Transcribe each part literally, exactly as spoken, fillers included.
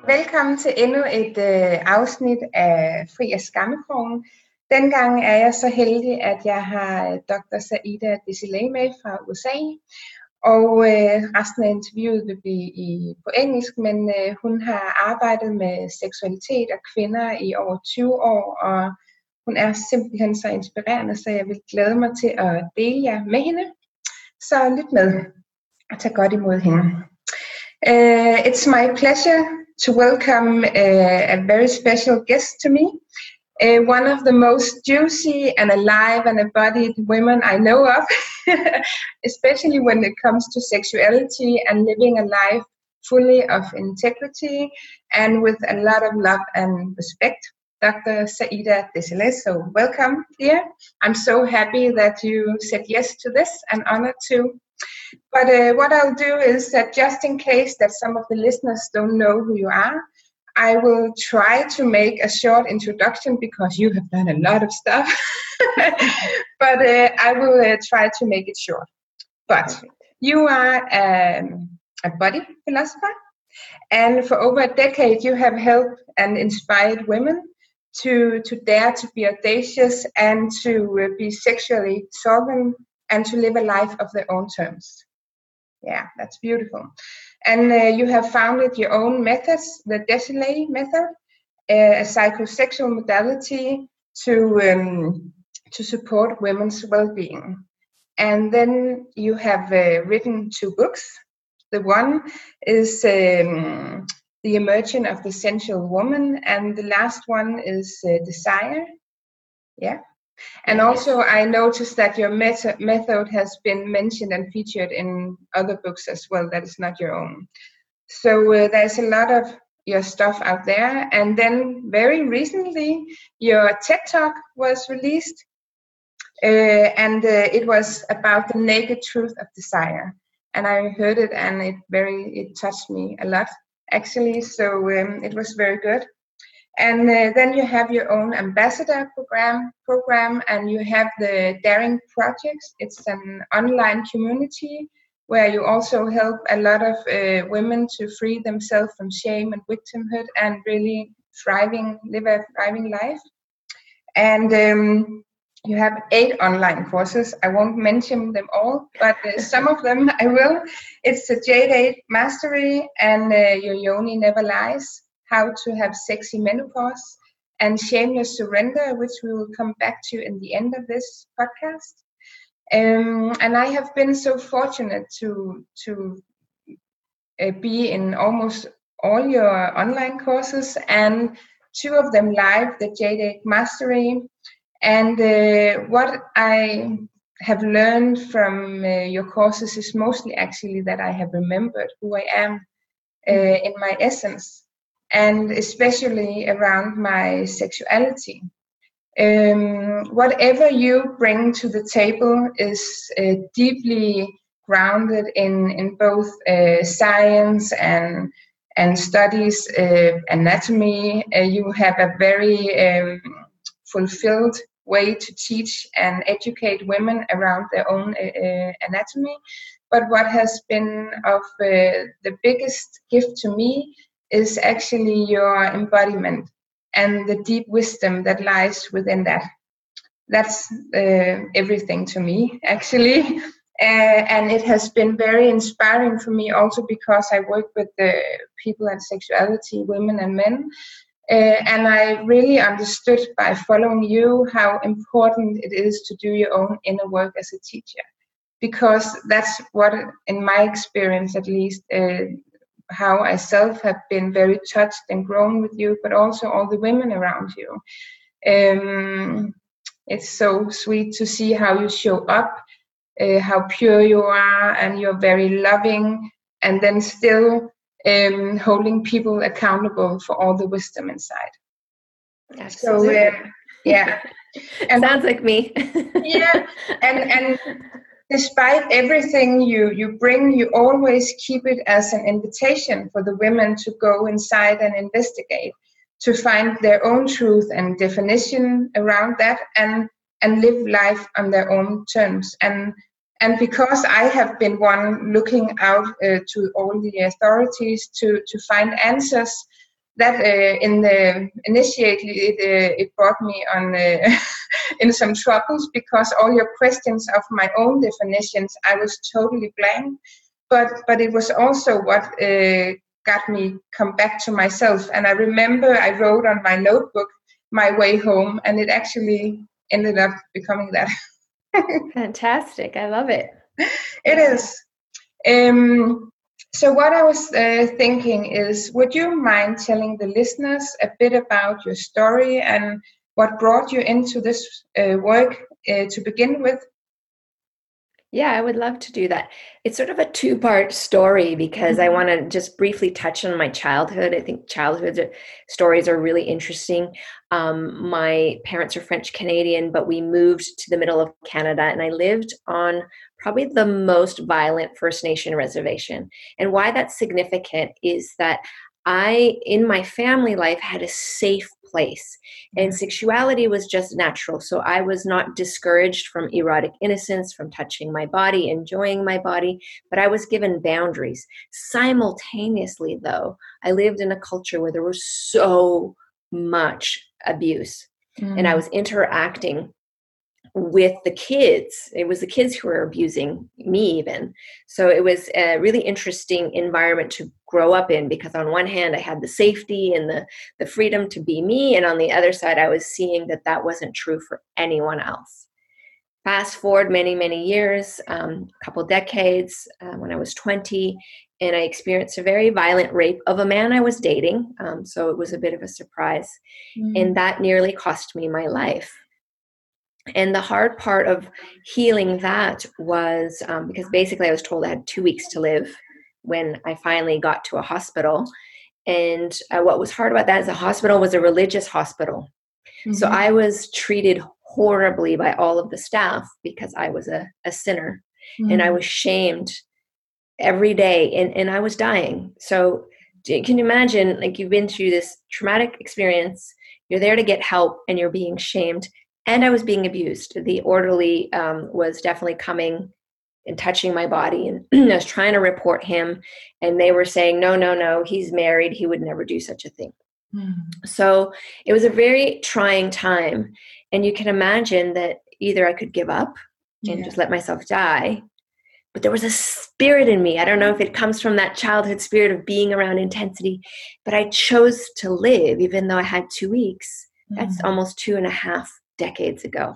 Velkommen til endnu et øh, afsnit af Fri af Skammekrogen. Dengang er jeg så heldig, at jeg har doktor Saida Dissilay med fra U S A, og øh, resten af interviewet vil blive i, på engelsk, men øh, hun har arbejdet med seksualitet og kvinder i over tyve år, og hun er simpelthen så inspirerende, så jeg vil glæde mig til at dele jer med hende. Så lyt med og tag godt imod hende. Uh, it's my pleasure to welcome uh, a very special guest to me, uh, one of the most juicy and alive and embodied women I know of, especially when it comes to sexuality and living a life fully of integrity and with a lot of love and respect. Doctor Saida Dissilay, so welcome here. I'm so happy that you said yes to this and honored to. But uh, what I'll do is that just in case that some of the listeners don't know who you are, I will try to make a short introduction because you have done a lot of stuff. But uh, I will uh, try to make it short. But you are um, a body philosopher, and for over a decade you have helped and inspired women to, to dare to be audacious and to uh, be sexually sovereign and to live a life of their own terms. Yeah, that's beautiful. And uh, you have founded your own methods, the Dissilay method, uh, a psychosexual modality to um, to support women's well-being. And then you have uh, written two books. The one is um, The Emergence of the Sensual Woman, and the last one is uh, Desire. Yeah. And also I noticed that your meta- method has been mentioned and featured in other books as well that is not your own. So uh, there's a lot of your stuff out there. And then very recently your TED Talk was released uh, and uh, it was about the naked truth of desire. And I heard it and it very it touched me a lot actually. So um, it was very good. And uh, then you have your own ambassador program, program, and you have the Daring Projects. It's an online community where you also help a lot of uh, women to free themselves from shame and victimhood and really thriving, live a thriving life. And um, you have eight online courses. I won't mention them all, but uh, some of them I will. It's the Jade eight Mastery and uh, Your Yoni Never Lies, How to Have Sexy Menopause, and Shameless Surrender, which we will come back to in the end of this podcast. Um, and I have been so fortunate to to uh, be in almost all your online courses, and two of them live, the Jade eight Mastery. And uh, what I have learned from uh, your courses is mostly actually that I have remembered who I am uh, in my essence, and especially around my sexuality. Um, whatever you bring to the table is uh, deeply grounded in, in both uh, science and and studies uh, anatomy. Uh, you have a very um, fulfilled way to teach and educate women around their own uh, anatomy. But what has been of uh, the biggest gift to me is actually your embodiment and the deep wisdom that lies within that. That's uh, everything to me, actually. Uh, and it has been very inspiring for me also because I work with the people and sexuality, women and men. Uh, and I really understood by following you how important it is to do your own inner work as a teacher. Because that's what, in my experience at least, uh, how I self have been very touched and grown with you, but also all the women around you. Um, it's so sweet to see how you show up, uh, how pure you are, and you're very loving, and then still um, holding people accountable for all the wisdom inside. Absolutely. So, uh, yeah. And sounds like me. Yeah, and and despite everything you, you bring, you always keep it as an invitation for the women to go inside and investigate, to find their own truth and definition around that, and and live life on their own terms. And and because I have been one looking out uh, to all the authorities to, to find answers, that uh, in the initially it uh, it brought me on uh, in some troubles, because all your questions of my own definitions, I was totally blank. But but it was also what uh, got me come back to myself. And I remember I wrote on my notebook my way home, and it actually ended up becoming that. Fantastic! I love it. It is. Um, so what I was uh, thinking is, would you mind telling the listeners a bit about your story and what brought you into this uh, work uh, to begin with? Yeah, I would love to do that. It's sort of a two-part story, because I want to just briefly touch on my childhood. I think childhood stories are really interesting. Um, my parents are French Canadian, but we moved to the middle of Canada, and I lived on probably the most violent First Nation reservation. And why that's significant is that I, in my family life, had a safe place, and sexuality was just natural. So I was not discouraged from erotic innocence, from touching my body, enjoying my body, but I was given boundaries. Simultaneously, though, I lived in a culture where there was so much abuse, mm. and I was interacting with the kids. It was the kids who were abusing me even. So it was a really interesting environment to grow up in, because on one hand I had the safety and the, the freedom to be me, and on the other side I was seeing that that wasn't true for anyone else. Fast forward many, many years, um, a couple decades, uh, when I was twenty, and I experienced a very violent rape of a man I was dating. Um, so it was a bit of a surprise, mm. and that nearly cost me my life. And the hard part of healing that was um, because basically I was told I had two weeks to live when I finally got to a hospital. And uh, what was hard about that is the hospital was a religious hospital. Mm-hmm. So I was treated horribly by all of the staff because I was a, a sinner, mm-hmm. and I was shamed every day, and, and I was dying. So can you imagine, like, you've been through this traumatic experience, you're there to get help, and you're being shamed. And I was being abused. The orderly um, was definitely coming and touching my body, and I was trying to report him, and they were saying, no, no, no, he's married. He would never do such a thing. Mm. So it was a very trying time. And you can imagine that either I could give up and yeah. just let myself die, but there was a spirit in me. I don't know if it comes from that childhood spirit of being around intensity, but I chose to live even though I had two weeks. Mm. That's almost two and a half decades ago.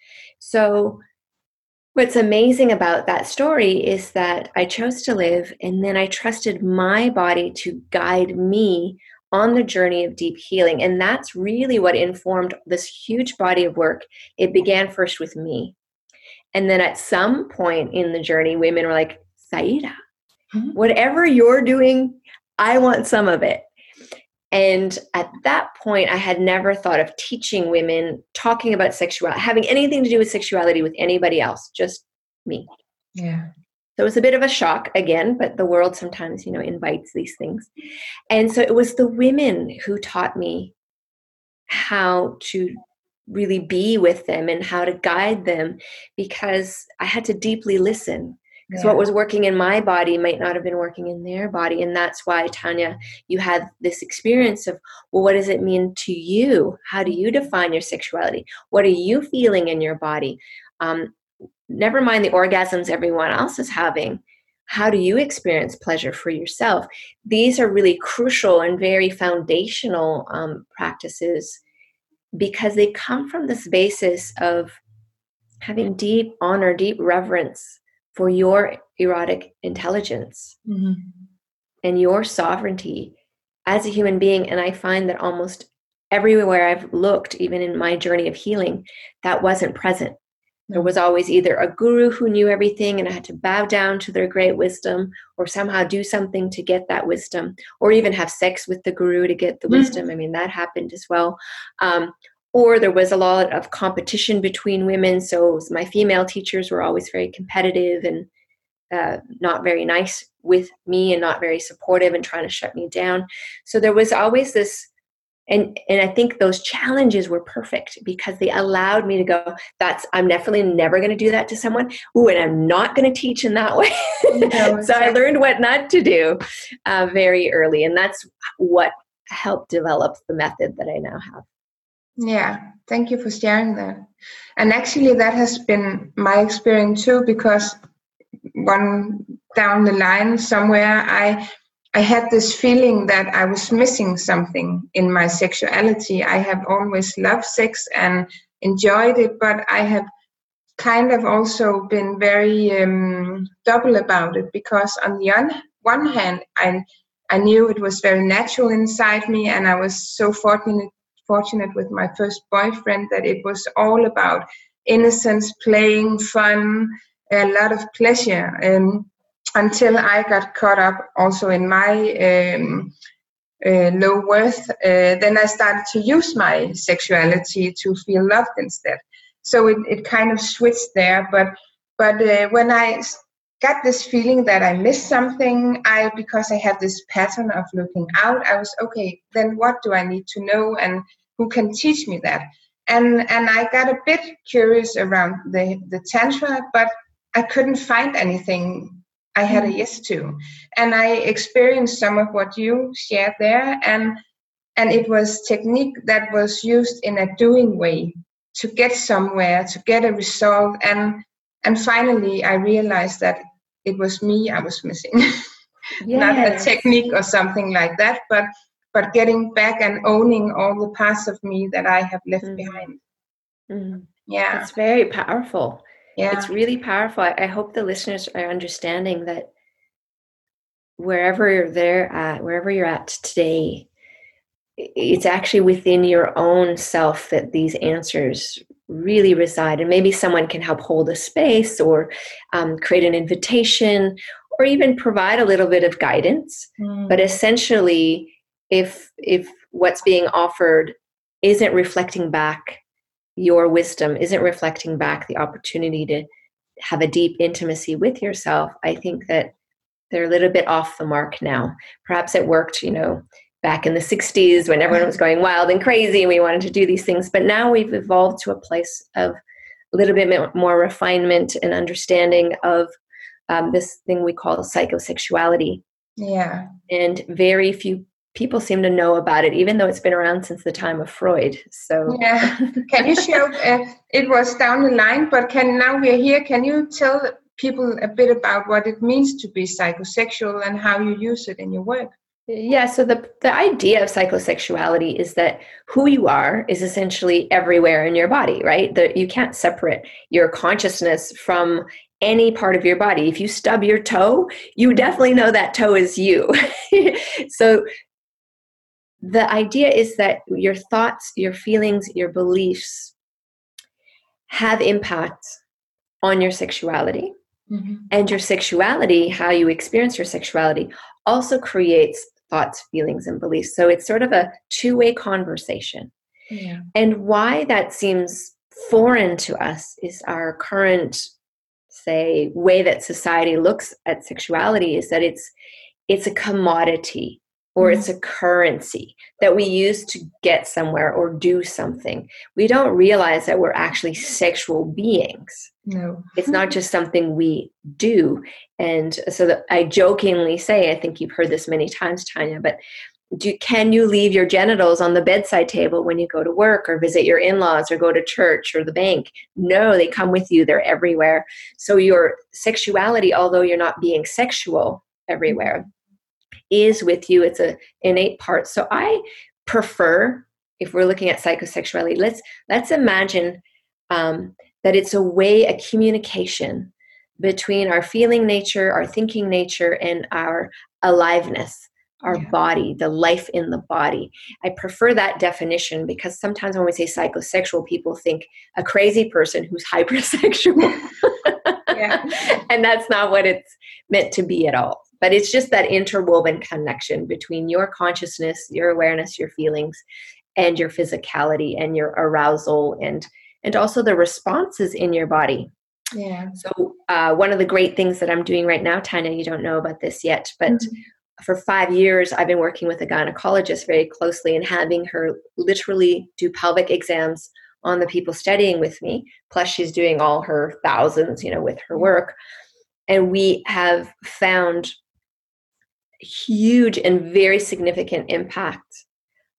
So what's amazing about that story is that I chose to live, and then I trusted my body to guide me on the journey of deep healing. And that's really what informed this huge body of work. It began first with me. And then at some point in the journey, women were like, Saida, mm-hmm. whatever you're doing, I want some of it. And at that point, I had never thought of teaching women, talking about sexuality, having anything to do with sexuality with anybody else, just me. Yeah. So it was a bit of a shock again, but the world sometimes, you know, invites these things. And so it was the women who taught me how to really be with them and how to guide them, because I had to deeply listen. Because yeah. what was working in my body might not have been working in their body. And that's why, Tanya, you had this experience of, well, what does it mean to you? How do you define your sexuality? What are you feeling in your body? Um, never mind the orgasms everyone else is having. How do you experience pleasure for yourself? These are really crucial and very foundational um, practices, because they come from this basis of having deep honor, deep reverence for your erotic intelligence, mm-hmm. and your sovereignty as a human being. And I find that almost everywhere I've looked, even in my journey of healing, that wasn't present. Mm-hmm. There was always either a guru who knew everything and I had to bow down to their great wisdom, or somehow do something to get that wisdom, or even have sex with the guru to get the mm-hmm. wisdom. I mean, that happened as well. Um, Or there was a lot of competition between women. So my female teachers were always very competitive and uh, not very nice with me, and not very supportive, and trying to shut me down. So there was always this, and and I think those challenges were perfect, because they allowed me to go, that's, I'm definitely never going to do that to someone. Ooh, and I'm not going to teach in that way. No, so I learned what not to do uh, very early. And that's what helped develop the method that I now have. Yeah, thank you for sharing that. And actually that has been my experience too, because one down the line somewhere, I I had this feeling that I was missing something in my sexuality. I have always loved sex and enjoyed it, but I have kind of also been very um, double about it, because on the un- one hand, I I knew it was very natural inside me, and I was so fortunate fortunate with my first boyfriend that it was all about innocence, playing, fun, a lot of pleasure. Um, until I got caught up also in my um, uh, low worth, uh, then I started to use my sexuality to feel loved instead. So it, it kind of switched there. But but uh, when I got this feeling that I missed something, I because I had this pattern of looking out, I was okay. Then what do I need to know, and who can teach me that? And and I got a bit curious around the the tantra, but I couldn't find anything I had a yes to. And I experienced some of what you shared there, and and it was technique that was used in a doing way to get somewhere, to get a result. And and finally I realized that it was me I was missing. Yes. Not a technique or something like that, but but getting back and owning all the parts of me that I have left mm-hmm. behind. Mm-hmm. Yeah. It's very powerful. Yeah. It's really powerful. I hope the listeners are understanding that wherever they're at, wherever you're at today, it's actually within your own self that these answers really reside. And maybe someone can help hold a space, or um, create an invitation, or even provide a little bit of guidance. Mm. But essentially, if if what's being offered isn't reflecting back your wisdom, isn't reflecting back the opportunity to have a deep intimacy with yourself, I think that they're a little bit off the mark now. Perhaps it worked, you know, back in the sixties when everyone was going wild and crazy and we wanted to do these things. But now we've evolved to a place of a little bit more refinement and understanding of um, this thing we call psychosexuality. Yeah. And very few people seem to know about it, even though it's been around since the time of Freud. So yeah. Can you show, uh, it was down the line, but can now we're here, can you tell people a bit about what it means to be psychosexual and how you use it in your work? Yeah, so the the idea of psychosexuality is that who you are is essentially everywhere in your body, right? That you can't separate your consciousness from any part of your body. If you stub your toe, you definitely know that toe is you. So the idea is that your thoughts, your feelings, your beliefs have impact on your sexuality. Mm-hmm. And your sexuality, how you experience your sexuality, also creates thoughts, feelings, and beliefs. So it's sort of a two-way conversation. Yeah. And why that seems foreign to us is our current, say, way that society looks at sexuality is that it's it's a commodity, or mm-hmm. it's a currency that we use to get somewhere or do something. We don't realize that we're actually sexual beings. No. It's not just something we do. And so that I jokingly say, I think you've heard this many times, Tanya, but do, can you leave your genitals on the bedside table when you go to work or visit your in-laws or go to church or the bank? No, they come with you. They're everywhere. So your sexuality, although you're not being sexual everywhere, is with you. It's an innate part. So I prefer, if we're looking at psychosexuality, let's let's imagine um, that it's a way, a communication between our feeling nature, our thinking nature, and our aliveness, our yeah. body, the life in the body. I prefer that definition because sometimes when we say psychosexual, people think a crazy person who's hypersexual. Yeah. And that's not what it's meant to be at all. But it's just that interwoven connection between your consciousness, your awareness, your feelings, and your physicality and your arousal, and and also the responses in your body. Yeah. So uh, one of the great things that I'm doing right now, Tanya, you don't know about this yet, but mm-hmm. for five years, I've been working with a gynecologist very closely and having her literally do pelvic exams on the people studying with me. Plus she's doing all her thousands, you know, with her work. And we have found huge and very significant impact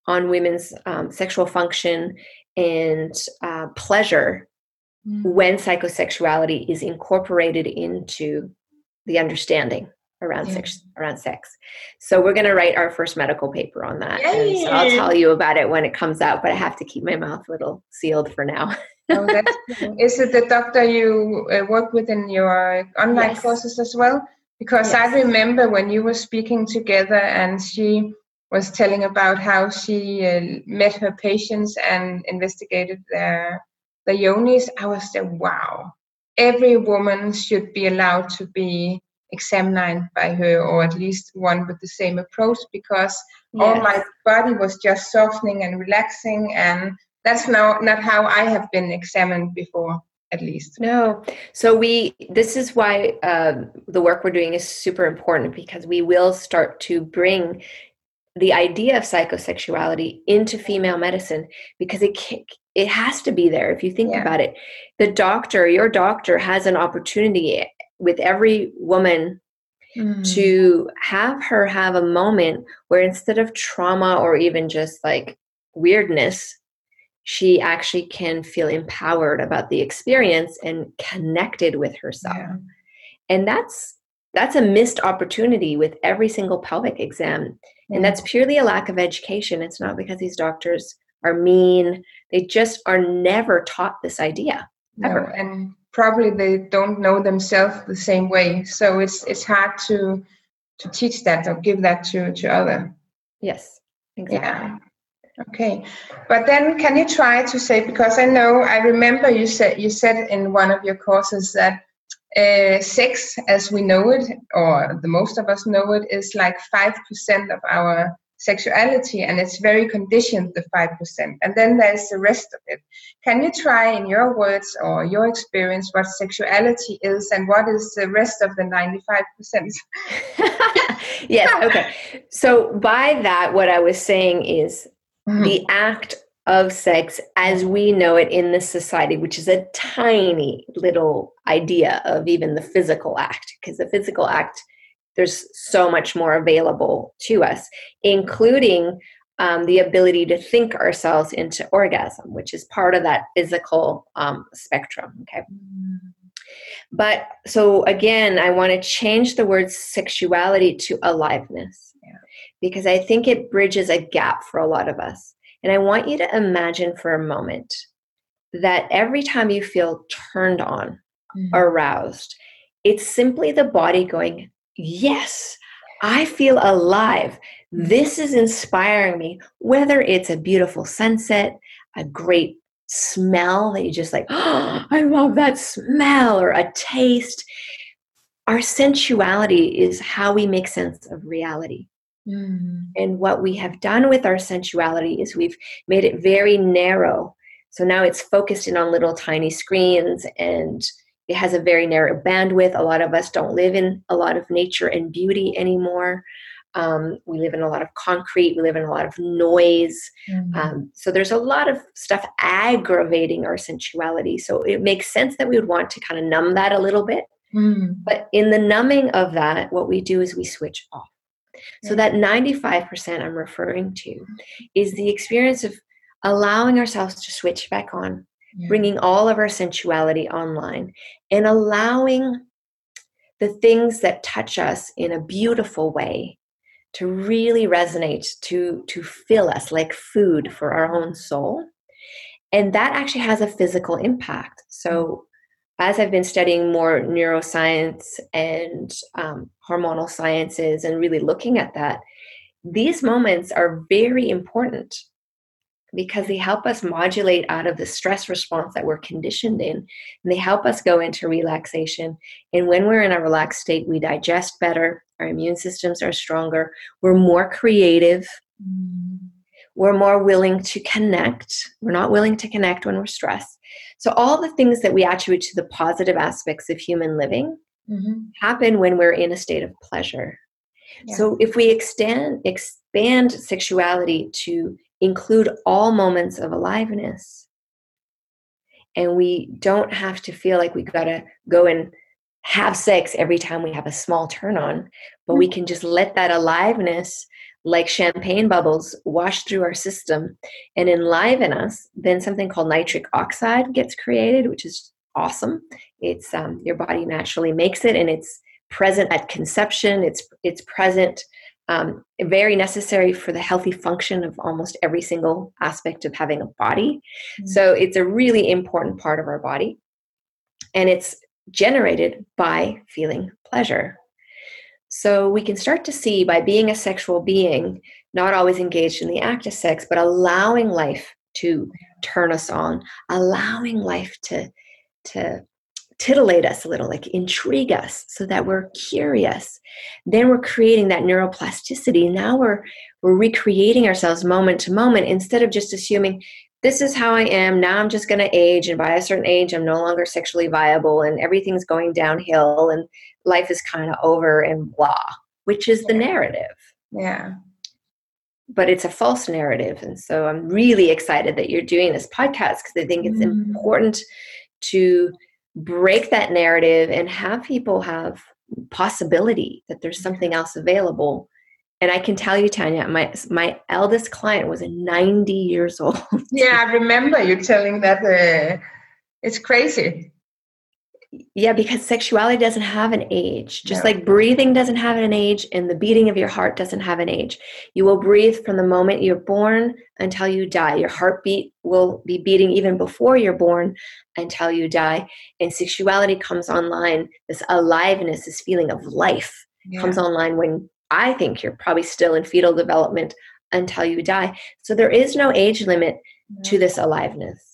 on women's um, sexual function and uh, pleasure mm. when psychosexuality is incorporated into the understanding around yeah. sex. Around sex. So we're going to write our first medical paper on that. Yay. And so I'll tell you about it when it comes out, but I have to keep my mouth a little sealed for now. Oh, that's cool. Is it the doctor you uh, work with in your online yes. courses as well? Because yes. I remember when you were speaking together and she was telling about how she uh, met her patients and investigated their, their yonis. I was there, wow, every woman should be allowed to be examined by her, or at least one with the same approach, because yes. all my body was just softening and relaxing, and that's now not how I have been examined before, at least. No. So we, this is why uh, the work we're doing is super important, because we will start to bring the idea of psychosexuality into female medicine, because it can, it has to be there. If you think yeah. about it, the doctor, your doctor has an opportunity with every woman mm. to have her have a moment where instead of trauma or even just like weirdness, she actually can feel empowered about the experience and connected with herself. Yeah. And that's that's a missed opportunity with every single pelvic exam. Yeah. And that's purely a lack of education. It's not because these doctors are mean. They just are never taught this idea. Ever. No, and probably they don't know themselves the same way. So it's it's hard to to teach that or give that to, to other. Yes, exactly. Yeah. Okay, but then can you try to say, because I know, I remember you said you said in one of your courses that uh, sex as we know it, or the most of us know it, is like five percent of our sexuality, and it's very conditioned, the five percent, and then there's the rest of it. Can you try in your words or your experience what sexuality is and what is the rest of the ninety-five percent? Yes, okay. So by that, what I was saying is mm-hmm. the act of sex as we know it in this society, which is a tiny little idea of even the physical act, because the physical act, there's so much more available to us, including um, the ability to think ourselves into orgasm, which is part of that physical um, spectrum. Okay. Mm-hmm. But so again, I want to change the word sexuality to aliveness, yeah. because I think it bridges a gap for a lot of us. And I want you to imagine for a moment that every time you feel turned on, mm-hmm. aroused, it's simply the body going, yes, I feel alive. This is inspiring me, whether it's a beautiful sunset, a great smell that you just like, oh, I love that smell, or a taste. Our sensuality is how we make sense of reality. Mm. And what we have done with our sensuality is we've made it very narrow. So now it's focused in on little tiny screens, and it has a very narrow bandwidth. A lot of us don't live in a lot of nature and beauty anymore. Um, we live in a lot of concrete. We live in a lot of noise. Mm-hmm. Um, so there's a lot of stuff aggravating our sensuality. So it makes sense that we would want to kind of numb that a little bit. Mm-hmm. But in the numbing of that, what we do is we switch off. So that ninety-five percent I'm referring to is the experience of allowing ourselves to switch back on, yeah. bringing all of our sensuality online, and allowing the things that touch us in a beautiful way to really resonate, to, to fill us like food for our own soul. And that actually has a physical impact. So as I've been studying more neuroscience and um, hormonal sciences and really looking at that, these moments are very important because they help us modulate out of the stress response that we're conditioned in, and they help us go into relaxation. And when we're in a relaxed state, we digest better, our immune systems are stronger, we're more creative, mm. we're more willing to connect. We're not willing to connect when we're stressed. So all the things that we attribute to the positive aspects of human living mm-hmm. happen when we're in a state of pleasure. Yeah. So if we extend, expand sexuality to include all moments of aliveness, and we don't have to feel like we got to go and have sex every time we have a small turn on, but we can just let that aliveness like champagne bubbles, wash through our system and enliven us, then something called nitric oxide gets created, which is awesome. It's um, your body naturally makes it, and it's present at conception. It's it's present, um, very necessary for the healthy function of almost every single aspect of having a body. Mm-hmm. So it's a really important part of our body, and it's generated by feeling pleasure. So we can start to see, by being a sexual being, not always engaged in the act of sex, but allowing life to turn us on, allowing life to, to titillate us a little, like intrigue us so that we're curious. Then we're creating that neuroplasticity. Now we're, we're recreating ourselves moment to moment, instead of just assuming, this is how I am, now I'm just going to age, and by a certain age I'm no longer sexually viable and everything's going downhill and life is kind of over and blah, which is the narrative. Yeah. But it's a false narrative. And so I'm really excited that you're doing this podcast, because I think it's mm. important to break that narrative and have people have possibility that there's something else available. And I can tell you, Tanya, my my eldest client was ninety years old. Yeah, I remember you telling that. Uh, it's crazy. Yeah, because sexuality doesn't have an age. Just No. like breathing doesn't have an age, and the beating of your heart doesn't have an age. You will breathe from the moment you're born until you die. Your heartbeat will be beating even before you're born until you die. And sexuality comes online. This aliveness, this feeling of life yeah. comes online when I think you're probably still in fetal development until you die. So there is no age limit yeah. to this aliveness.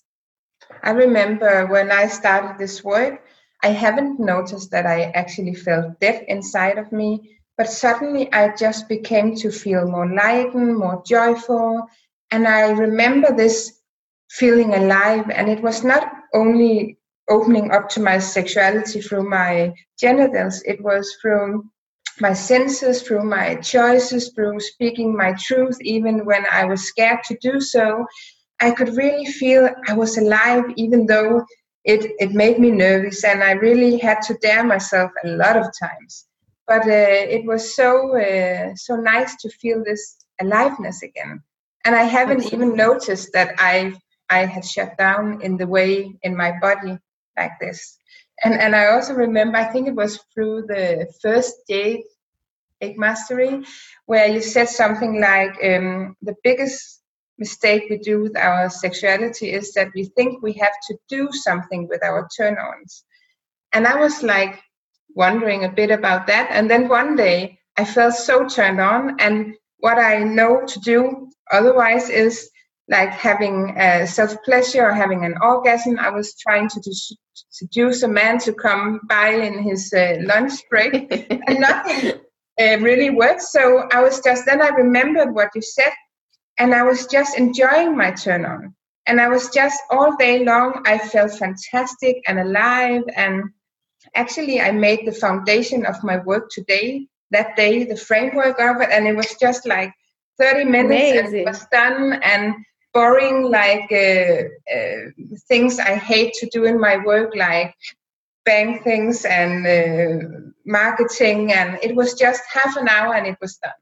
I remember when I started this work, I haven't noticed that I actually felt death inside of me, but suddenly I just became to feel more lightened, more joyful. And I remember this feeling alive. And it was not only opening up to my sexuality through my genitals, it was through my senses, through my choices, through speaking my truth, even when I was scared to do so. I could really feel I was alive, even though it, it made me nervous, and I really had to dare myself a lot of times. But uh, it was so uh, so nice to feel this aliveness again. And I haven't Absolutely. even noticed that I I had shut down in the way in my body like this. And and I also remember, I think it was through the first Jade Egg Mastery, where you said something like, um, the biggest mistake we do with our sexuality is that we think we have to do something with our turn-ons. And I was like wondering a bit about that. And then one day I felt so turned on, and what I know to do otherwise is like having a self-pleasure or having an orgasm. I was trying to do- seduce a man to come by in his uh, lunch break, and nothing uh, really worked. So I was just, then I remembered what you said, and I was just enjoying my turn on. And I was just all day long, I felt fantastic and alive. And actually, I made the foundation of my work today, that day, the framework of it. And it was just like thirty minutes Amazing. And it was done. And boring, like uh, uh, things I hate to do in my work, like bank things and uh, marketing. And it was just half an hour and it was done.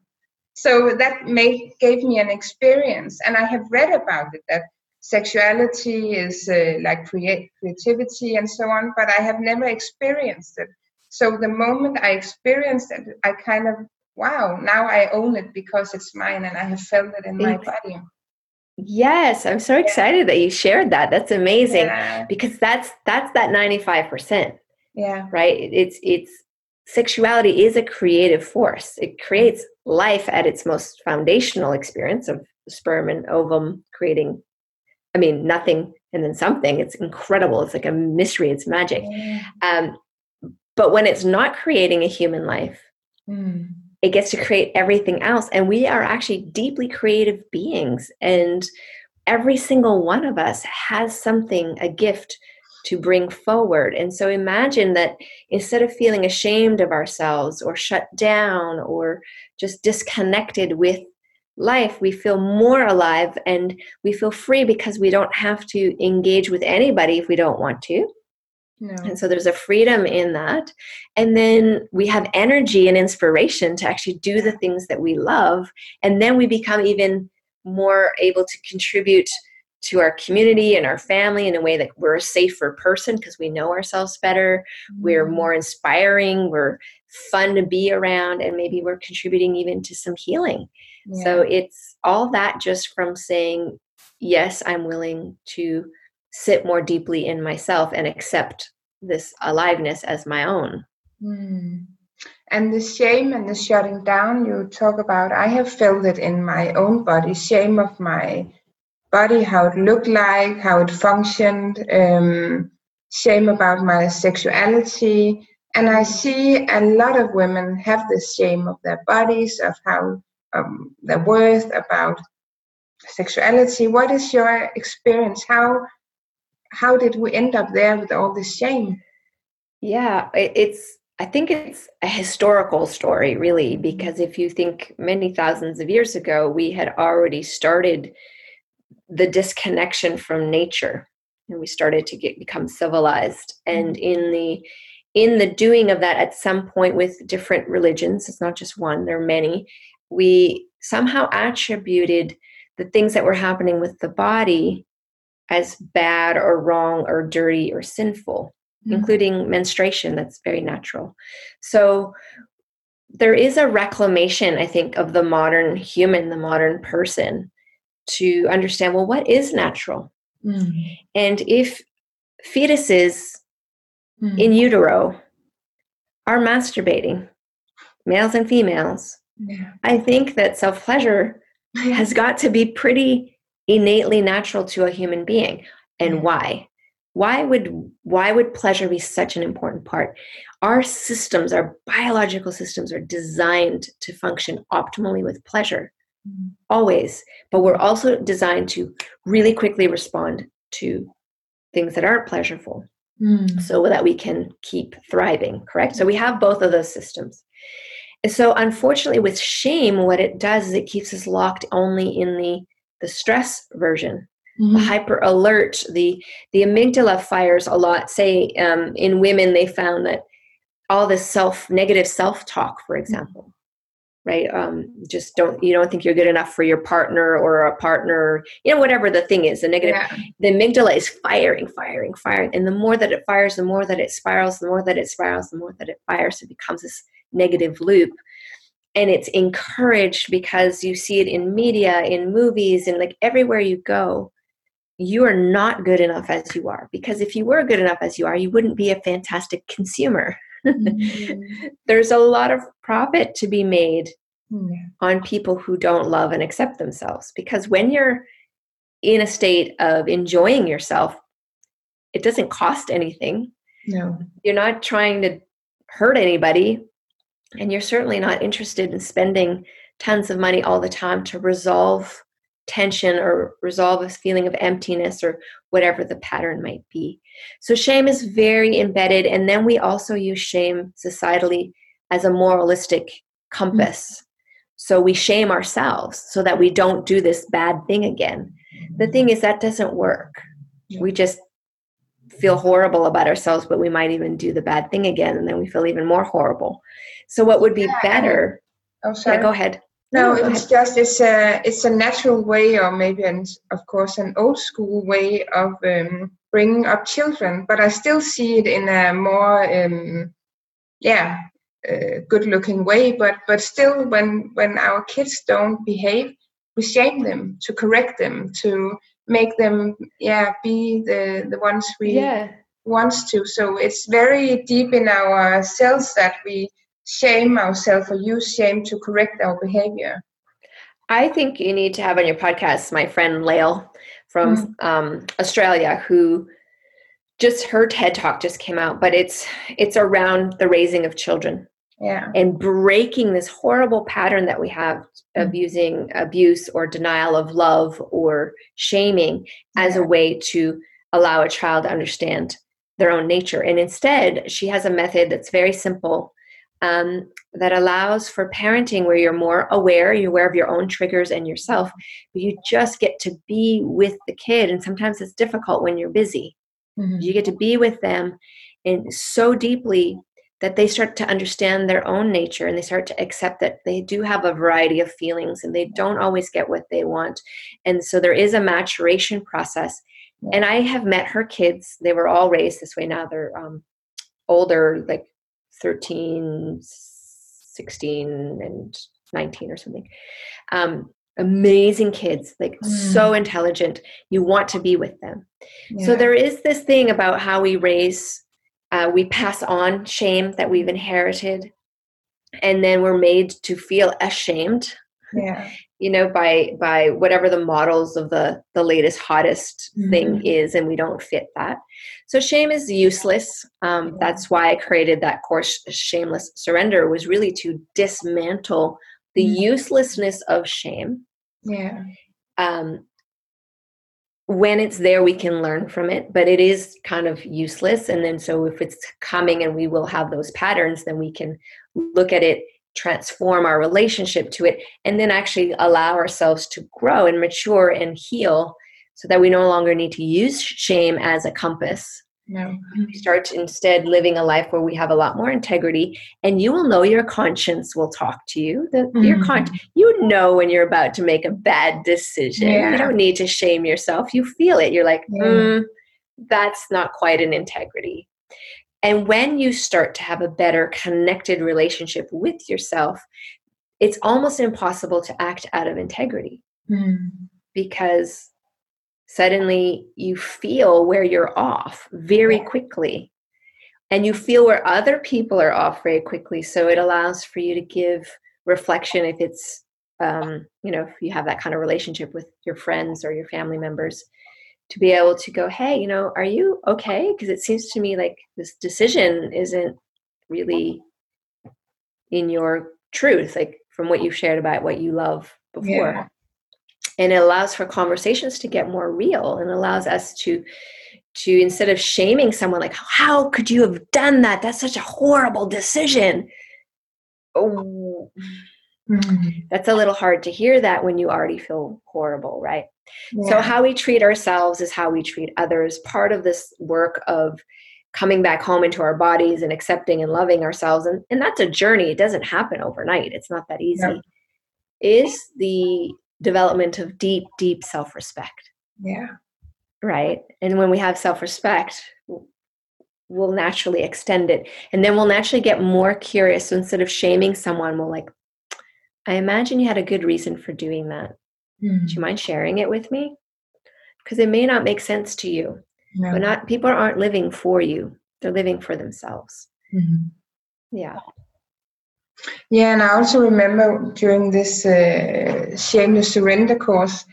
So that made gave me an experience, and I have read about it, that sexuality is uh, like create, creativity and so on, but I have never experienced it. So the moment I experienced it, I kind of, wow, now I own it because it's mine and I have felt it in my body. Yes, I'm so excited yeah. that you shared that. That's amazing yeah. because that's that's that ninety-five percent. Yeah. Right? It's it's sexuality is a creative force. It creates life at its most foundational experience of sperm and ovum creating, I mean, nothing and then something. It's incredible. It's like a mystery. It's magic. Yeah. Um, but when it's not creating a human life, mm. it gets to create everything else. And we are actually deeply creative beings. And every single one of us has something, a gift to bring forward. And so imagine that instead of feeling ashamed of ourselves or shut down or just disconnected with life, we feel more alive and we feel free because we don't have to engage with anybody if we don't want to. No. And so there's a freedom in that. And then we have energy and inspiration to actually do the things that we love. And then we become even more able to contribute to our community and our family in a way that we're a safer person because we know ourselves better. Mm-hmm. We're more inspiring. We're fun to be around. And maybe we're contributing even to some healing. Yeah. So it's all that just from saying, yes, I'm willing to sit more deeply in myself and accept this aliveness as my own. Mm. And the shame and the shutting down you talk about, I have felt it in my own body, shame of my body, how it looked like, how it functioned, um, shame about my sexuality. And I see a lot of women have this shame of their bodies, of how um, their worth, about sexuality. What is your experience? How how did we end up there with all this shame? Yeah, it, it's, I think it's a historical story, really, because if you think many thousands of years ago, we had already started the disconnection from nature, and we started to get become civilized. And in the in the doing of that, at some point with different religions, it's not just one, there are many, we somehow attributed the things that were happening with the body as bad or wrong or dirty or sinful, mm-hmm. including menstruation. That's very natural. So there is a reclamation, I think, of the modern human, the modern person, to understand, well, what is natural? Mm. And if fetuses mm. in utero are masturbating, males and females, yeah. I think that self-pleasure has got to be pretty innately natural to a human being. And mm. why? Why would why would pleasure be such an important part? Our systems, our biological systems, are designed to function optimally with pleasure. Always. But we're also designed to really quickly respond to things that aren't pleasurable mm. so that we can keep thriving, correct? So we have both of those systems. And so unfortunately with shame, what it does is it keeps us locked only in the, the stress version, mm-hmm. the hyper alert, the, the amygdala fires a lot. Say um, in women, they found that all this self, negative self-talk, for example, right? Um, just don't, you don't think you're good enough for your partner or a partner, you know, whatever the thing is, the negative, yeah. the amygdala is firing, firing, firing. And the more that it fires, the more that it spirals, the more that it spirals, the more that it fires. It becomes this negative loop. And it's encouraged because you see it in media, in movies, and like everywhere you go, you are not good enough as you are. Because if you were good enough as you are, you wouldn't be a fantastic consumer. Mm-hmm. There's a lot of profit to be made mm-hmm. on people who don't love and accept themselves, because when you're in a state of enjoying yourself, it doesn't cost anything. No, you're not trying to hurt anybody, and you're certainly not interested in spending tons of money all the time to resolve tension or resolve a feeling of emptiness or whatever the pattern might be. So shame is very embedded. And then we also use shame societally as a moralistic compass. Mm-hmm. So we shame ourselves so that we don't do this bad thing again. The thing is, that doesn't work. Yeah. We just feel horrible about ourselves, but we might even do the bad thing again, and then we feel even more horrible. So what would be yeah, better? Oh, sorry. Yeah, go ahead. No, no it's just it's a it's a natural way, or maybe an, of course an old school way of um, bringing up children. But I still see it in a more um, yeah uh, good looking way. But but still, when when our kids don't behave, we shame them, to correct them, to make them yeah be the the ones we yeah. want to. So it's very deep in our cells that we shame ourselves or use shame to correct our behavior. I think you need to have on your podcast my friend Lael from mm. um, Australia, who just her TED Talk just came out, but it's it's around the raising of children. Yeah. And breaking this horrible pattern that we have of mm. using abuse or denial of love or shaming as yeah. a way to allow a child to understand their own nature. And instead, she has a method that's very simple, Um, that allows for parenting where you're more aware, you're aware of your own triggers and yourself, but you just get to be with the kid. And sometimes it's difficult when you're busy. Mm-hmm. You get to be with them and so deeply that they start to understand their own nature, and they start to accept that they do have a variety of feelings and they don't always get what they want. And so there is a maturation process. Yeah. And I have met her kids. They were all raised this way. Now they're um, older, like thirteen, sixteen, and nineteen or something. Um, amazing kids, like mm. so intelligent. You want to be with them. Yeah. So there is this thing about how we raise Uh, we pass on shame that we've inherited, and then we're made to feel ashamed, yeah. you know, by by whatever the models of the, the latest, hottest mm-hmm. thing is, and we don't fit that. So shame is useless. Um, yeah. That's why I created that course, Shameless Surrender, was really to dismantle the mm-hmm. uselessness of shame. Yeah. Um, when it's there, we can learn from it, but it is kind of useless. And then so if it's coming and we will have those patterns, then we can look at it, transform our relationship to it, and then actually allow ourselves to grow and mature and heal so that we no longer need to use shame as a compass. No. We start instead living a life where we have a lot more integrity, and you will know your conscience will talk to you. The, mm-hmm. Your con- you know when you're about to make a bad decision. Yeah. You don't need to shame yourself. You feel it. You're like, yeah. mm, that's not quite an integrity. And when you start to have a better connected relationship with yourself, it's almost impossible to act out of integrity mm. because suddenly you feel where you're off very yeah. quickly, and you feel where other people are off very quickly. So it allows for you to give reflection if it's, um, you know, if you have that kind of relationship with your friends or your family members, to be able to go, hey, you know, are you okay? Because it seems to me like this decision isn't really in your truth, like from what you've shared about what you love before. Yeah. And it allows for conversations to get more real, and allows us to, to instead of shaming someone, like, how could you have done that? That's such a horrible decision. Oh, mm-hmm. That's a little hard to hear that when you already feel horrible, right? Yeah. So how we treat ourselves is how we treat others. Part of this work of coming back home into our bodies and accepting and loving ourselves, and, and that's a journey. It doesn't happen overnight. It's not that easy. No. Is the development of deep, deep self-respect. Yeah. Right. And when we have self-respect, we'll naturally extend it. And then we'll naturally get more curious. So instead of shaming someone, we'll like, I imagine you had a good reason for doing that. Mm. Do you mind sharing it with me? Because it may not make sense to you. No. But not, people aren't living for you. They're living for themselves. Mm-hmm. Yeah. Yeah, and I also remember during this uh, Shameless Surrender course,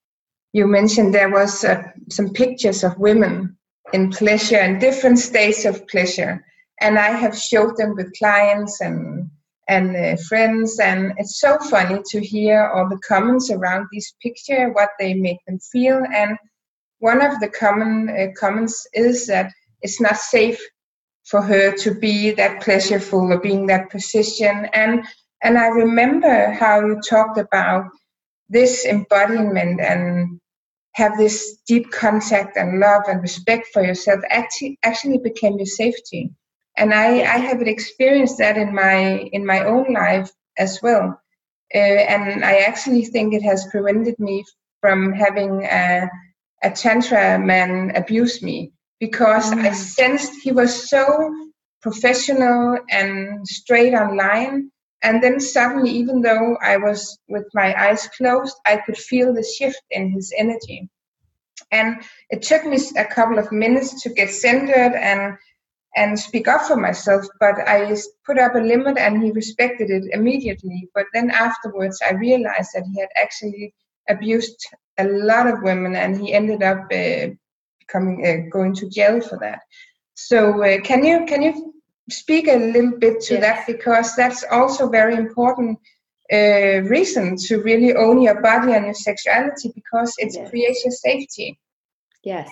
you mentioned there was uh, some pictures of women in pleasure and different states of pleasure, and I have showed them with clients and and uh, friends, and it's so funny to hear all the comments around this picture, what they make them feel. And one of the common uh, comments is that it's not safe for her to be that pleasureful or being that position. And and I remember how you talked about this embodiment and have this deep contact and love and respect for yourself actually actually became your safety. And I, I have experienced that in my in my own life as well. Uh, and I actually think it has prevented me from having a, a tantra man abuse me, because mm. I sensed he was so professional and straight on line. And then suddenly, even though I was with my eyes closed, I could feel the shift in his energy. And it took me a couple of minutes to get centered and and speak up for myself, but I put up a limit and he respected it immediately. But then afterwards, I realized that he had actually abused a lot of women, and he ended up uh, becoming uh, going to jail for that. So uh, can you can you speak a little bit to yes. that, because that's also very important uh, reason to really own your body and your sexuality, because it yes. creates your safety. Yes,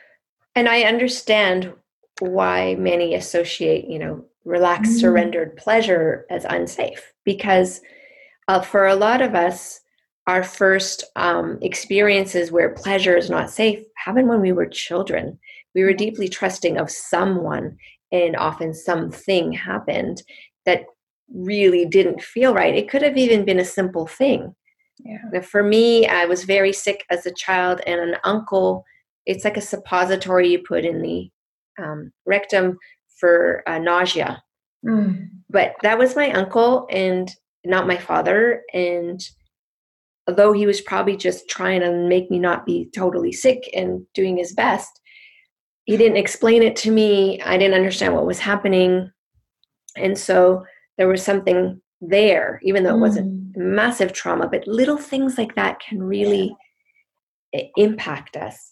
and I understand why many associate, you know, relaxed, mm. surrendered pleasure as unsafe, because uh, for a lot of us, our first um, experiences where pleasure is not safe happened when we were children. We were deeply trusting of someone, and often something happened that really didn't feel right. It could have even been a simple thing. Yeah. For me, I was very sick as a child, and an uncle, it's like a suppository you put in the um, rectum for uh, nausea. Mm. But that was my uncle and not my father. And although he was probably just trying to make me not be totally sick and doing his best, he didn't explain it to me. I didn't understand what was happening. And so there was something there, even though it wasn't Mm. massive trauma, but little things like that can really yeah. impact us.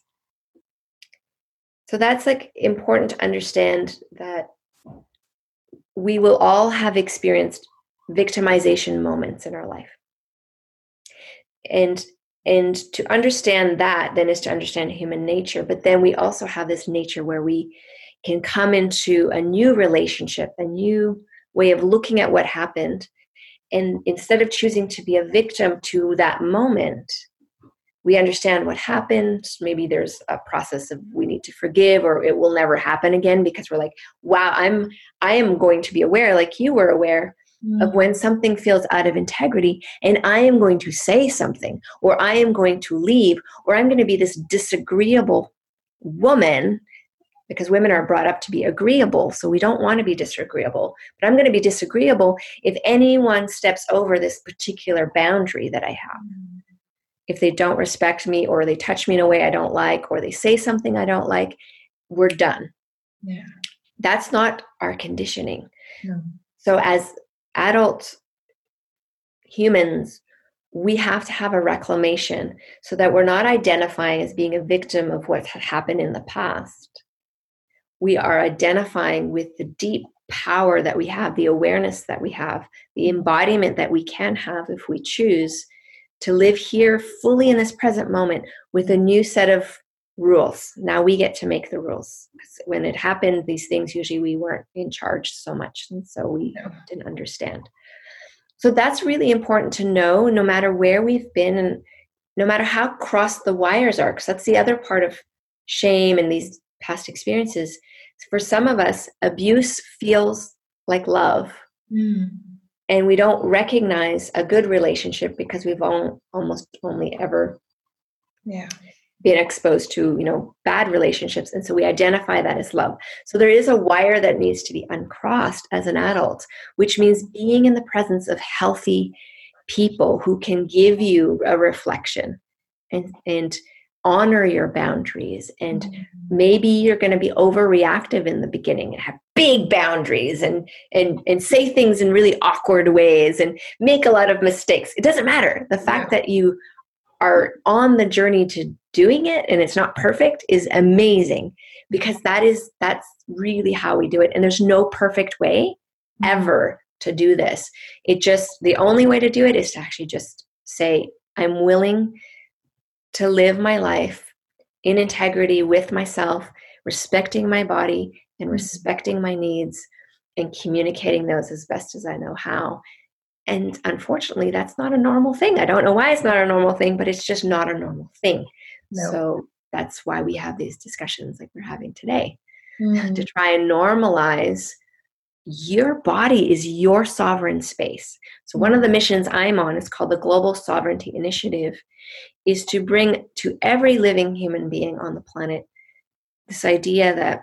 So that's like important to understand that we will all have experienced victimization moments in our life. And and to understand that then is to understand human nature. But then we also have this nature where we can come into a new relationship, a new way of looking at what happened. And instead of choosing to be a victim to that moment, we understand what happened. Maybe there's a process of we need to forgive, or it will never happen again, because we're like, wow, I'm, I am going to be aware, like you were aware, mm. of when something feels out of integrity, and I am going to say something, or I am going to leave, or I'm going to be this disagreeable woman, because women are brought up to be agreeable. So we don't want to be disagreeable, but I'm going to be disagreeable if anyone steps over this particular boundary that I have. Mm. If they don't respect me, or they touch me in a way I don't like, or they say something I don't like, we're done. Yeah. That's not our conditioning. No. So as adult humans, we have to have a reclamation so that we're not identifying as being a victim of what had happened in the past. We are identifying with the deep power that we have, the awareness that we have, the embodiment that we can have if we choose to live here fully in this present moment with a new set of rules. Now we get to make the rules. When it happened, these things, usually we weren't in charge so much, and so we no. didn't understand. So that's really important to know, no matter where we've been and no matter how crossed the wires are, because that's the other part of shame and these past experiences. For some of us, abuse feels like love. Mm. And we don't recognize a good relationship because we've all, almost only ever yeah. been exposed to, you know, bad relationships. And so we identify that as love. So there is a wire that needs to be uncrossed as an adult, which means being in the presence of healthy people who can give you a reflection and, and honor your boundaries. And mm-hmm. maybe you're going to be overreactive in the beginning and have big boundaries and, and, and say things in really awkward ways and make a lot of mistakes. It doesn't matter. The fact yeah. that you are on the journey to doing it and it's not perfect is amazing, because that is, that's really how we do it. And there's no perfect way ever to do this. It just, the only way to do it is to actually just say, I'm willing to live my life in integrity with myself, respecting my body and respecting my needs and communicating those as best as I know how. And unfortunately, that's not a normal thing. I don't know why it's not a normal thing, but it's just not a normal thing. No. So that's why we have these discussions like we're having today, mm. to try and normalize your body is your sovereign space. So one of the missions I'm on is called the Global Sovereignty Initiative, is to bring to every living human being on the planet this idea that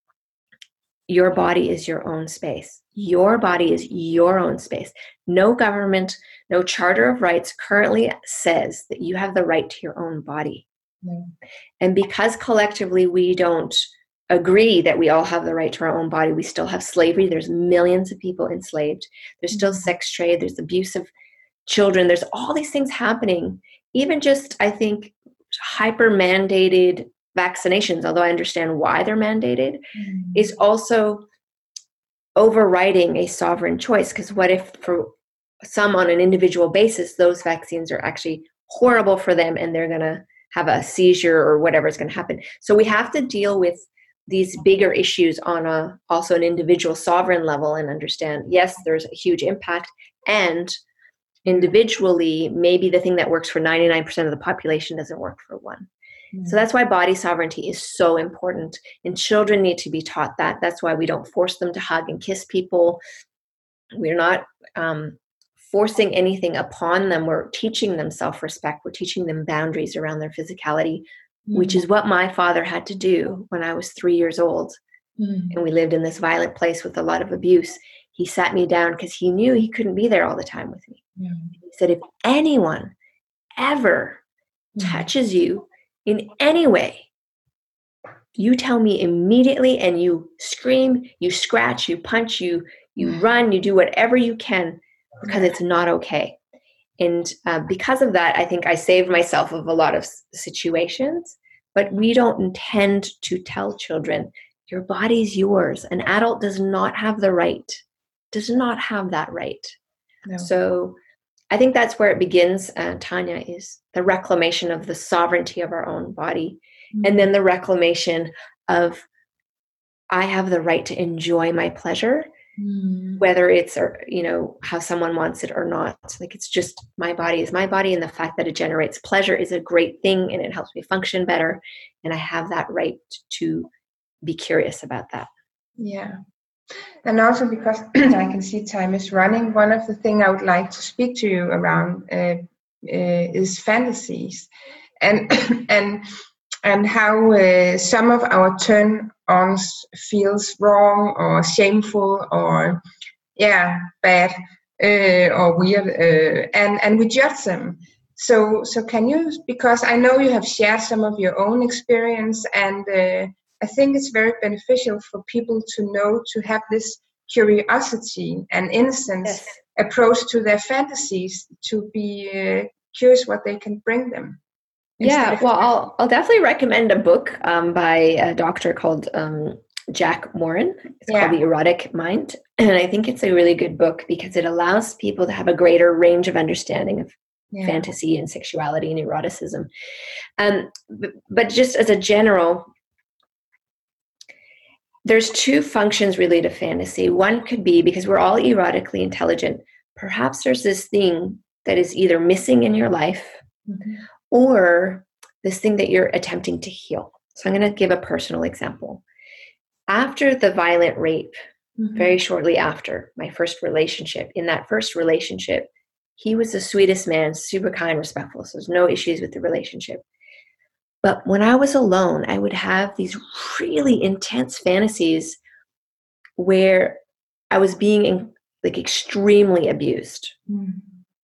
your body is your own space. Your body is your own space. No government, no Charter of Rights currently says that you have the right to your own body. Mm. And because collectively we don't agree that we all have the right to our own body, we still have slavery. There's millions of people enslaved. There's still sex trade. There's abuse of children. There's all these things happening. Even just, I think, hyper mandated vaccinations, although I understand why they're mandated, mm-hmm. is also overriding a sovereign choice. Because what if for some on an individual basis, those vaccines are actually horrible for them and they're going to have a seizure or whatever is going to happen. So we have to deal with these bigger issues on a also an individual sovereign level and understand, yes, there's a huge impact, and individually, maybe the thing that works for ninety-nine percent of the population doesn't work for one. Mm. So that's why body sovereignty is so important. And children need to be taught that. That's why we don't force them to hug and kiss people. We're not um, forcing anything upon them. We're teaching them self-respect. We're teaching them boundaries around their physicality, mm. which is what my father had to do when I was three years old. Mm. And we lived in this violent place with a lot of abuse. He sat me down because he knew he couldn't be there all the time with me. Mm. He said, if anyone ever mm. touches you in any way, you tell me immediately, and you scream, you scratch, you punch, you you run, you do whatever you can, because it's not okay. And uh, because of that, I think I saved myself of a lot of situations. But we don't intend to tell children, your body's yours. An adult does not have the right, does not have that right. No. So I think that's where it begins, uh, Tanya, is the reclamation of the sovereignty of our own body. Mm-hmm. And then the reclamation of, I have the right to enjoy my pleasure, mm. whether it's, or, you know, how someone wants it or not. Like, it's just, my body is my body. And the fact that it generates pleasure is a great thing, and it helps me function better. And I have that right to be curious about that. Yeah. And also because I can see time is running, one of the things I would like to speak to you around uh, uh, is fantasies, and and and how uh, some of our turn-ons feels wrong or shameful or yeah bad uh, or weird, uh, and and we judge them. So so can you, because I know you have shared some of your own experience, and uh, I think it's very beneficial for people to know, to have this curiosity and innocence yes. approach to their fantasies, to be uh, curious what they can bring them. Yeah, well, I'll I'll definitely recommend a book um, by a doctor called um, Jack Morin. It's yeah. called The Erotic Mind, and I think it's a really good book because it allows people to have a greater range of understanding of yeah. fantasy and sexuality and eroticism. Um, but, but just as a general, there's two functions really to fantasy. One could be, because we're all erotically intelligent, perhaps there's this thing that is either missing in your life, mm-hmm. or this thing that you're attempting to heal. So I'm going to give a personal example. After the violent rape, mm-hmm. very shortly after my first relationship, in that first relationship, he was the sweetest man, super kind, respectful. So there's no issues with the relationship. But when I was alone, I would have these really intense fantasies where I was being in, like extremely abused. Mm.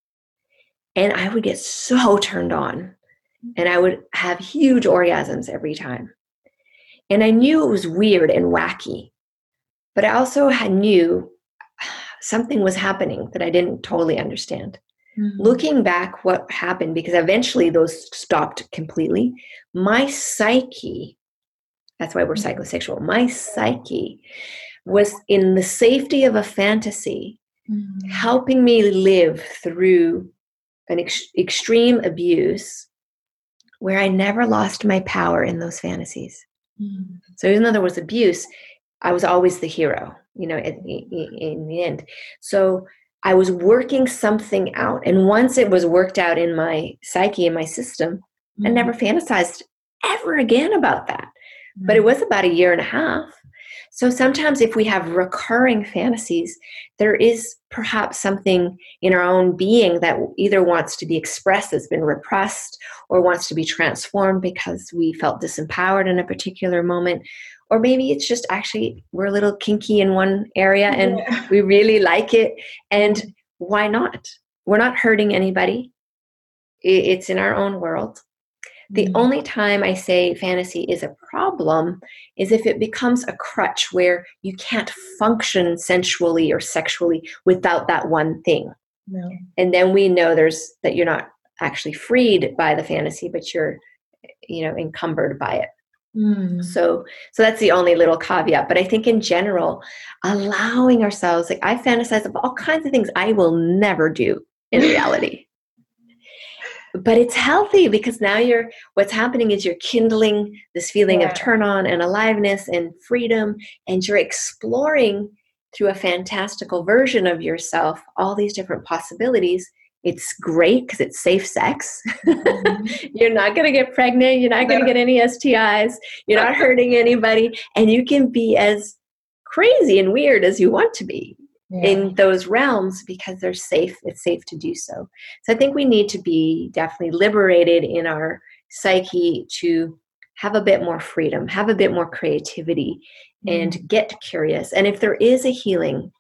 And I would get so turned on, and I would have huge orgasms every time. And I knew it was weird and wacky, but I also had knew something was happening that I didn't totally understand. Mm-hmm. Looking back, what happened, because eventually those stopped completely, my psyche, that's why we're mm-hmm. psychosexual, my psyche was in the safety of a fantasy, mm-hmm. helping me live through an ex- extreme abuse where I never lost my power in those fantasies. Mm-hmm. So even though there was abuse, I was always the hero, you know, in, in, in the end. So I was working something out. And once it was worked out in my psyche, in my system, mm-hmm. I never fantasized ever again about that. Mm-hmm. But it was about a year and a half. So sometimes if we have recurring fantasies, there is perhaps something in our own being that either wants to be expressed, that's been repressed, or wants to be transformed because we felt disempowered in a particular moment. Or maybe it's just actually we're a little kinky in one area and yeah. we really like it. And why not? We're not hurting anybody. It's in our own world. The mm-hmm. only time I say fantasy is a problem is if it becomes a crutch where you can't function sensually or sexually without that one thing. No. And then we know there's that you're not actually freed by the fantasy, but you're, you know, encumbered by it. Mm. So, so that's the only little caveat. But I think in general, allowing ourselves, like I fantasize of all kinds of things I will never do in reality. But it's healthy because now you're, what's happening is you're kindling this feeling yeah. of turn on and aliveness and freedom, and you're exploring through a fantastical version of yourself all these different possibilities, It's great because it's safe sex. Mm-hmm. You're not going to get pregnant. You're not going to get any S T Is. You're not hurting anybody. And you can be as crazy and weird as you want to be yeah. in those realms because they're safe. It's safe to do so. So I think we need to be definitely liberated in our psyche to have a bit more freedom, have a bit more creativity, mm-hmm. and get curious. And if there is a healing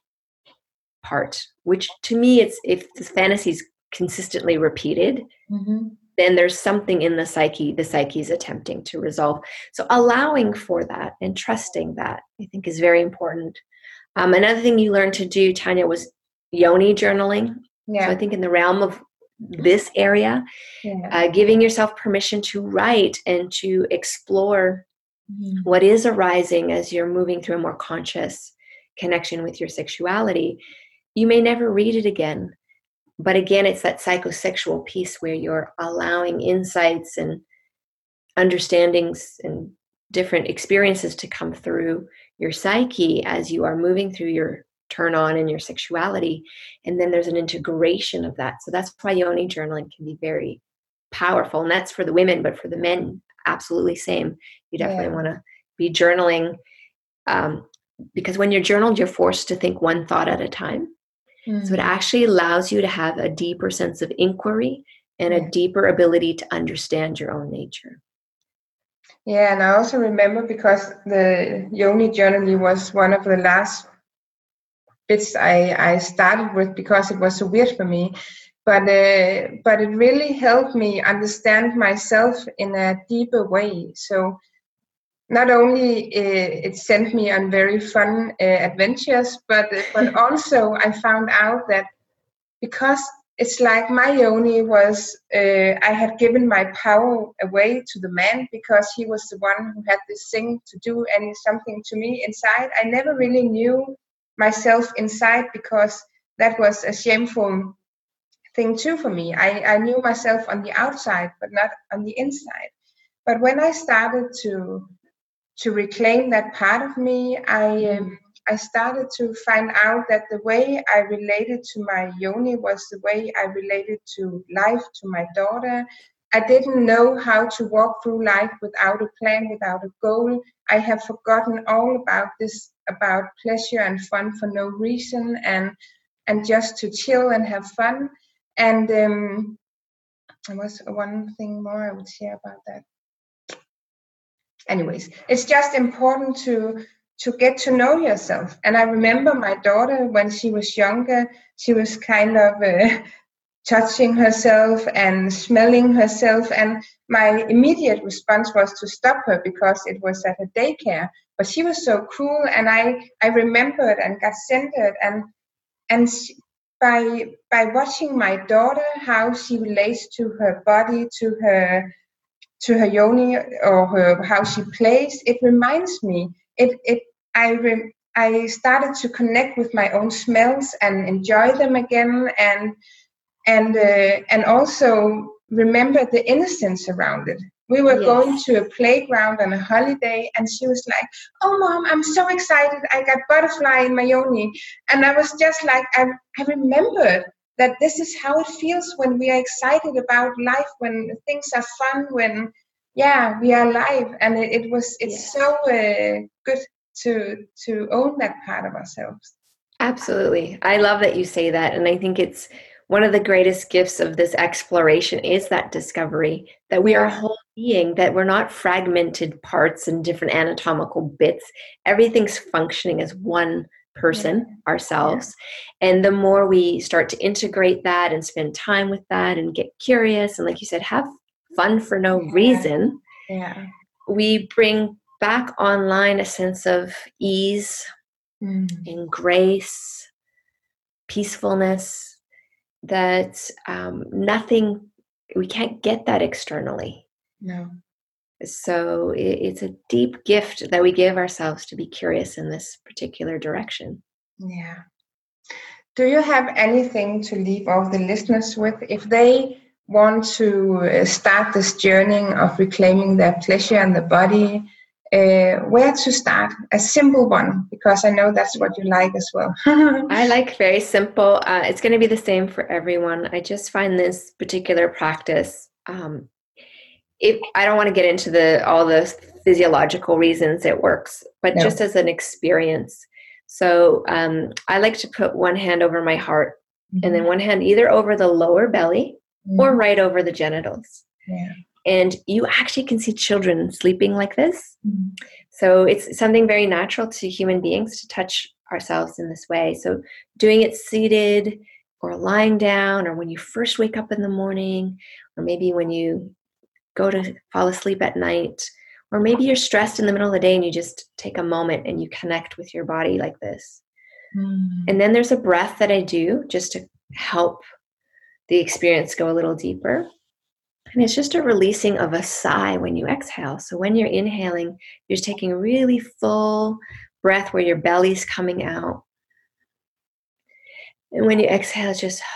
part, which to me, it's if the fantasy is consistently repeated, mm-hmm. then there's something in the psyche the psyche is attempting to resolve. So allowing for that and trusting that, I think, is very important. Um, another thing you learned to do, Tanya, was yoni journaling. Yeah. So I think in the realm of this area, yeah. uh, giving yourself permission to write and to explore mm-hmm. what is arising as you're moving through a more conscious connection with your sexuality. You may never read it again, but again, it's that psychosexual piece where you're allowing insights and understandings and different experiences to come through your psyche as you are moving through your turn on in your sexuality. And then there's an integration of that. So that's why yoni journaling can be very powerful. And that's for the women, but for the men, absolutely same. You definitely yeah. want to be journaling um, because when you're journaled, you're forced to think one thought at a time. Mm-hmm. So it actually allows you to have a deeper sense of inquiry and yeah. a deeper ability to understand your own nature. Yeah, and I also remember because the yoni journaling was one of the last bits I, I started with because it was so weird for me. But uh, but it really helped me understand myself in a deeper way. So not only uh, it sent me on very fun uh, adventures, but but also I found out that because it's like my yoni was, uh, I had given my power away to the man because he was the one who had this thing to do any something to me inside. I never really knew myself inside because that was a shameful thing too for me. I, I knew myself on the outside, but not on the inside. But when I started to to reclaim that part of me, I um, I started to find out that the way I related to my yoni was the way I related to life, to my daughter. I didn't know how to walk through life without a plan, without a goal. I have forgotten all about this, about pleasure and fun for no reason, and and just to chill and have fun. And um, there was one thing more I would share about that. Anyways, it's just important to to get to know yourself. And I remember my daughter when she was younger, she was kind of uh, touching herself and smelling herself. And my immediate response was to stop her because it was at a daycare. But she was so cool, and I I remembered and got centered. And and she, by by watching my daughter, how she relates to her body, to her to her yoni or her how she plays, it reminds me. It it I re, I started to connect with my own smells and enjoy them again, and and uh, and also remember the innocence around it. We were yes. going to a playground on a holiday, and she was like, "Oh, Mom, I'm so excited! I got butterfly in my yoni," and I was just like, I I remembered that this is how it feels when we are excited about life, when things are fun, when, yeah, we are alive. And it, it was, it's yeah. so uh, good to to own that part of ourselves. Absolutely. I love that you say that. And I think it's one of the greatest gifts of this exploration is that discovery that we yeah. are a whole being, that we're not fragmented parts and different anatomical bits. Everything's functioning as one person, yeah. ourselves. Yeah. And the more we start to integrate that and spend time with that and get curious and, like you said, have fun for no yeah. reason, yeah. we bring back online a sense of ease mm. and grace, peacefulness, that um, nothing, we can't get that externally. No. So it's a deep gift that we give ourselves to be curious in this particular direction. Yeah. Do you have anything to leave all the listeners with if they want to start this journey of reclaiming their pleasure and the body? uh, where to start? A simple one, because I know that's what you like as well. I like very simple. Uh, it's going to be the same for everyone. I just find this particular practice, um, if I don't want to get into the all the physiological reasons it works, but no. just as an experience. So um, I like to put one hand over my heart, mm-hmm. and then one hand either over the lower belly, mm-hmm. or right over the genitals. Yeah. And you actually can see children sleeping like this. Mm-hmm. So it's something very natural to human beings to touch ourselves in this way. So doing it seated or lying down, or when you first wake up in the morning, or maybe when you go to fall asleep at night, or maybe you're stressed in the middle of the day and you just take a moment and you connect with your body like this. Mm-hmm. And then there's a breath that I do just to help the experience go a little deeper. And it's just a releasing of a sigh when you exhale. So when you're inhaling, you're just taking a really full breath where your belly's coming out. And when you exhale, it's just,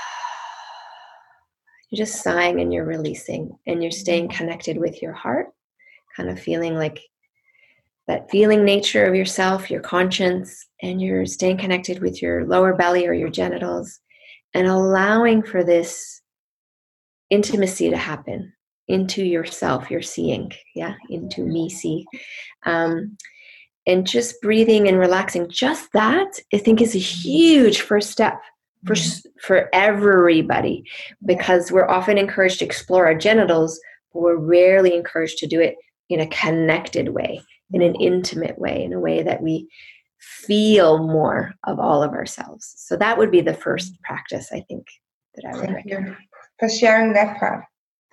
you're just sighing and you're releasing. And you're staying connected with your heart, kind of feeling like that feeling nature of yourself, your conscience, and you're staying connected with your lower belly or your genitals, and allowing for this intimacy to happen into yourself, your seeing, yeah, into me see. Um, and just breathing and relaxing, just that, I think, is a huge first step for, for everybody, because we're often encouraged to explore our genitals, but we're rarely encouraged to do it in a connected way, in an intimate way, in a way that we feel more of all of ourselves. So that would be the first practice, I think, that I would Thank recommend. you for sharing that part.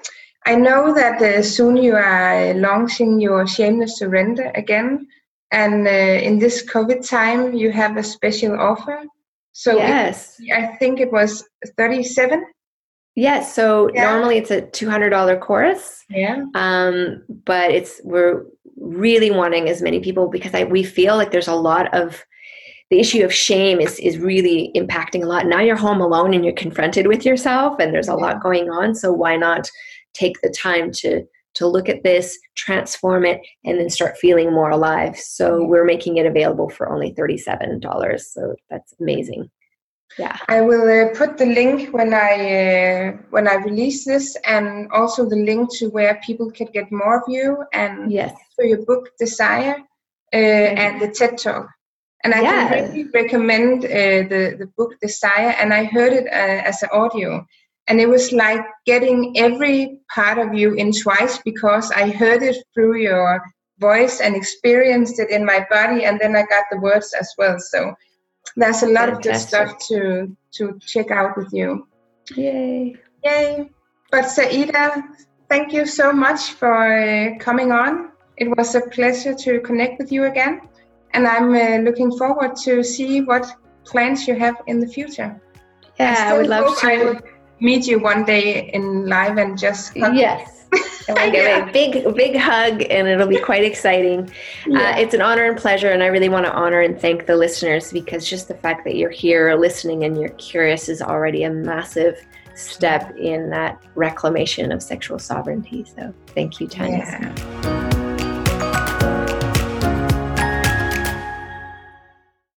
I know that uh, soon you are launching your Shameless Surrender again, and uh, in this COVID time you have a special offer. So yes, it, I think it was thirty-seven. Yes, so yeah. normally it's a two hundred dollars course. Yeah. Um, but it's we're really wanting as many people, because I, we feel like there's a lot of, the issue of shame is, is really impacting a lot. Now you're home alone and you're confronted with yourself, and there's a yeah. lot going on. So why not take the time to to look at this, transform it, and then start feeling more alive? So we're making it available for only thirty-seven dollars. So that's amazing. Yeah, I will uh, put the link when I uh, when I release this, and also the link to where people can get more of you, and yes. for your book Desire, uh, and the TED Talk. And I yes. can really recommend uh, the the book Desire. And I heard it uh, as an audio, and it was like getting every part of you in twice, because I heard it through your voice and experienced it in my body, and then I got the words as well. So there's a lot Fantastic. Of good stuff to to check out with you. Yay. Yay. But Saida, thank you so much for uh, coming on. It was a pleasure to connect with you again. And I'm uh, looking forward to see what plans you have in the future. Yeah, I, I would love to. I would meet you one day in live and just hug yes. And we'll give yeah. a big, big hug, and it'll be quite exciting. Yeah. Uh, it's an honor and pleasure, and I really want to honor and thank the listeners, because just the fact that you're here listening and you're curious is already a massive step in that reclamation of sexual sovereignty. So thank you, Tanya. Yeah.